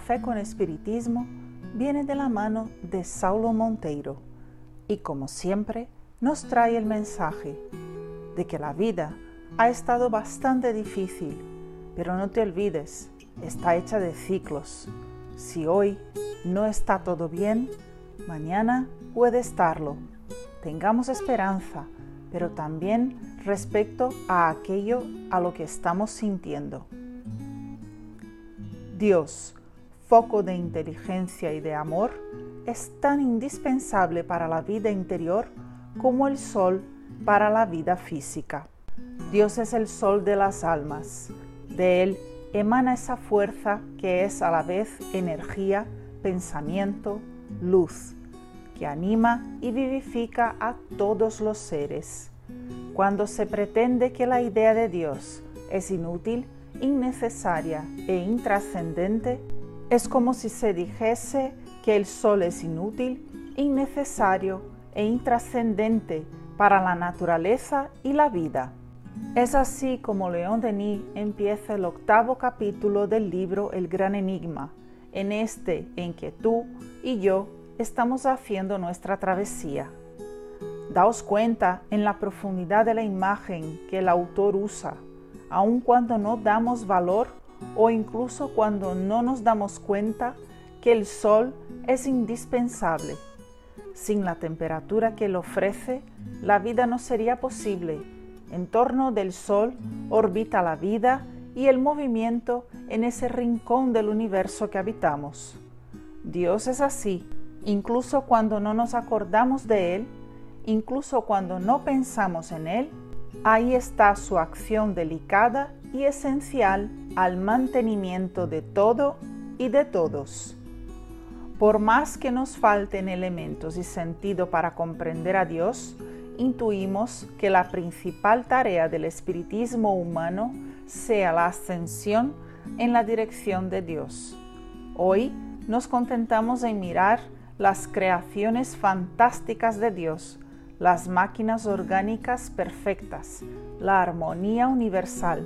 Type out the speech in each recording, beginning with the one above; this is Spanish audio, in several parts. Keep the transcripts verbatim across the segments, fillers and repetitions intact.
Café con Espiritismo viene de la mano de Saulo Monteiro y, como siempre, nos trae el mensaje de que la vida ha estado bastante difícil, pero no te olvides, está hecha de ciclos. Si hoy no está todo bien, mañana puede estarlo. Tengamos esperanza, pero también respecto a aquello a lo que estamos sintiendo. Dios, foco de inteligencia y de amor, es tan indispensable para la vida interior como el sol para la vida física. Dios es el sol de las almas. De él emana esa fuerza que es a la vez energía, pensamiento, luz, que anima y vivifica a todos los seres. Cuando se pretende que la idea de Dios es inútil, innecesaria e intrascendente, es como si se dijese que el sol es inútil, innecesario e intrascendente para la naturaleza y la vida. Es así como León Denis empieza el octavo capítulo del libro El Gran Enigma, en este en que tú y yo estamos haciendo nuestra travesía. Daos cuenta en la profundidad de la imagen que el autor usa, aun cuando no damos valor o incluso cuando no nos damos cuenta que el sol es indispensable. Sin la temperatura que él ofrece, la vida no sería posible. En torno del sol orbita la vida y el movimiento en ese rincón del universo que habitamos. Dios es así, incluso cuando no nos acordamos de él, incluso cuando no pensamos en él, ahí está su acción delicada y esencial al mantenimiento de todo y de todos. Por más que nos falten elementos y sentido para comprender a Dios, intuimos que la principal tarea del espiritismo humano sea la ascensión en la dirección de Dios. Hoy nos contentamos en mirar las creaciones fantásticas de Dios, las máquinas orgánicas perfectas, la armonía universal.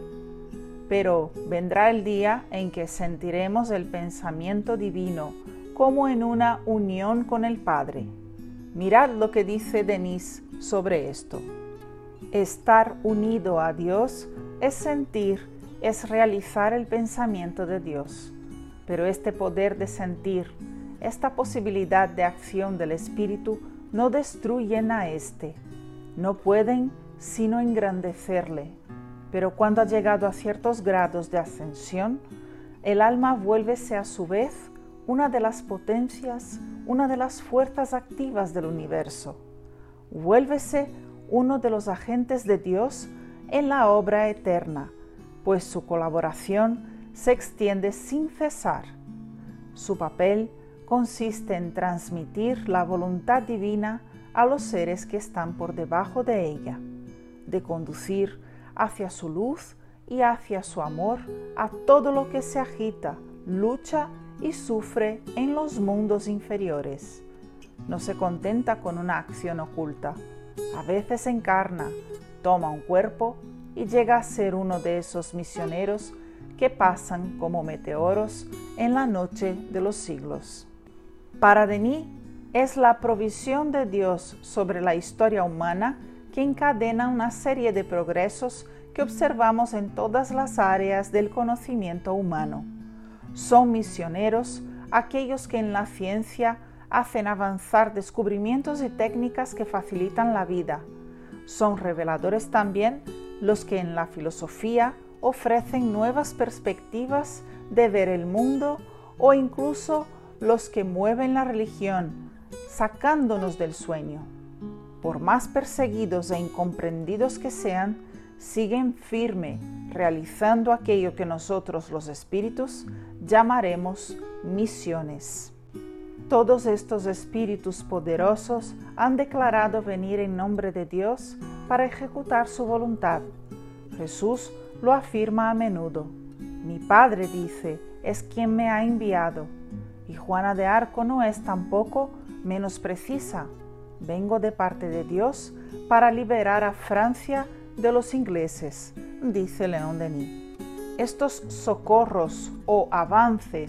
Pero vendrá el día en que sentiremos el pensamiento divino como en una unión con el Padre. Mirad lo que dice Denis sobre esto. Estar unido a Dios es sentir, es realizar el pensamiento de Dios. Pero este poder de sentir, esta posibilidad de acción del Espíritu no destruyen a éste, no pueden sino engrandecerle. Pero cuando ha llegado a ciertos grados de ascensión, el alma vuélvese a su vez una de las potencias, una de las fuerzas activas del universo. Vuélvese uno de los agentes de Dios en la obra eterna, pues su colaboración se extiende sin cesar. Su papel consiste en transmitir la voluntad divina a los seres que están por debajo de ella, de conducir hacia su luz y hacia su amor a todo lo que se agita, lucha y sufre en los mundos inferiores. No se contenta con una acción oculta, a veces encarna, toma un cuerpo y llega a ser uno de esos misioneros que pasan como meteoros en la noche de los siglos. Para Denis, es la provisión de Dios sobre la historia humana que encadena una serie de progresos que observamos en todas las áreas del conocimiento humano. Son misioneros aquellos que en la ciencia hacen avanzar descubrimientos y técnicas que facilitan la vida. Son reveladores también los que en la filosofía ofrecen nuevas perspectivas de ver el mundo o incluso los que mueven la religión, sacándonos del sueño. Por más perseguidos e incomprendidos que sean, siguen firme, realizando aquello que nosotros los espíritus llamaremos misiones. Todos estos espíritus poderosos han declarado venir en nombre de Dios para ejecutar su voluntad. Jesús lo afirma a menudo. Mi Padre, dice, es quien me ha enviado. Y Juana de Arco no es tampoco menos precisa. Vengo de parte de Dios para liberar a Francia de los ingleses, dice León Denis. Estos socorros o avances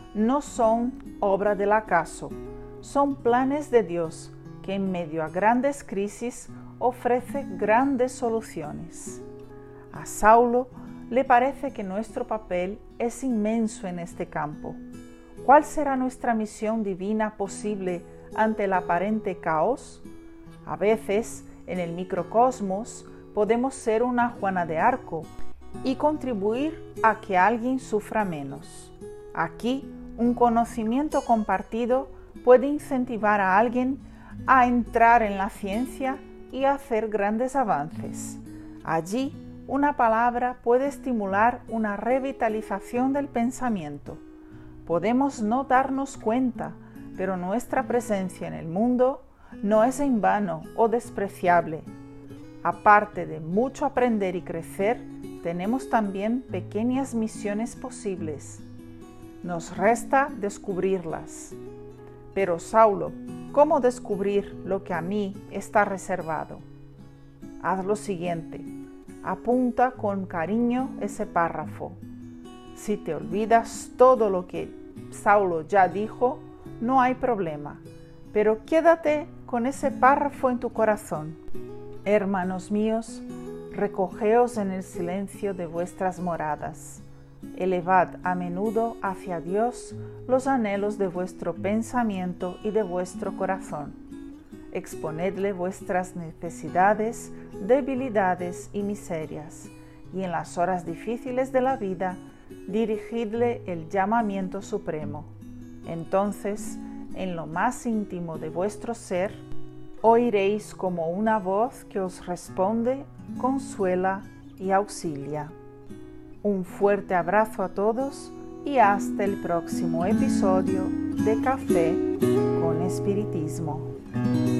no son obra del acaso, son planes de Dios que en medio a grandes crisis ofrece grandes soluciones. A Saulo le parece que nuestro papel es inmenso en este campo. ¿Cuál será nuestra misión divina posible ante el aparente caos? A veces, en el microcosmos, podemos ser una Juana de Arco y contribuir a que alguien sufra menos. Aquí, un conocimiento compartido puede incentivar a alguien a entrar en la ciencia y a hacer grandes avances. Allí, una palabra puede estimular una revitalización del pensamiento. Podemos no darnos cuenta, pero nuestra presencia en el mundo no es en vano o despreciable. Aparte de mucho aprender y crecer, tenemos también pequeñas misiones posibles. Nos resta descubrirlas. Pero Saulo, ¿cómo descubrir lo que a mí está reservado? Haz lo siguiente, apunta con cariño ese párrafo. Si te olvidas todo lo que Saulo ya dijo, no hay problema, pero quédate con ese párrafo en tu corazón. Hermanos míos, recogeos en el silencio de vuestras moradas. Elevad a menudo hacia Dios los anhelos de vuestro pensamiento y de vuestro corazón. Exponedle vuestras necesidades, debilidades y miserias, y en las horas difíciles de la vida, dirigidle el llamamiento supremo. Entonces, en lo más íntimo de vuestro ser, oiréis como una voz que os responde, consuela y auxilia. Un fuerte abrazo a todos y hasta el próximo episodio de Café con Espiritismo.